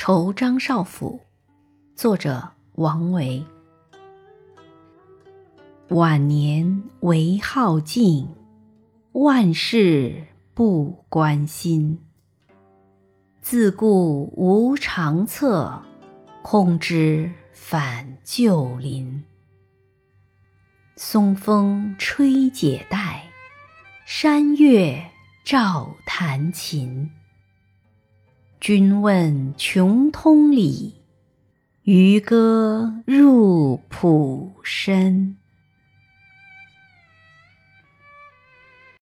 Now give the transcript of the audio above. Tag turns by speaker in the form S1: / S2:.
S1: 酬张少府，作者王维。晚年唯好静，万事不关心。自顾无长策，空知返旧林。松风吹解带，山月照弹琴。君问穷通理，渔歌入浦深。